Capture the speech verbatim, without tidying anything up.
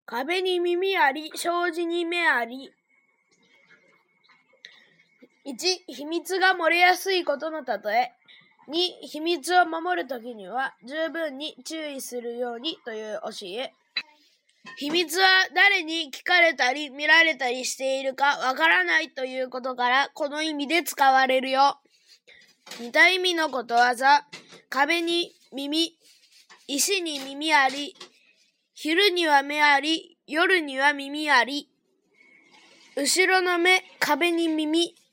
壁に耳あり、障子に目あり。いち. 秘密が漏れやすいことの例え。に. 秘密を守るときには十分に注意するようにという教え。秘密は誰に聞かれたり見られたりしているかわからないということからこの意味で使われるよ。似た意味のことわざ。壁に耳、石に耳あり。昼には目あり、夜には耳あり。後ろの目、壁に耳。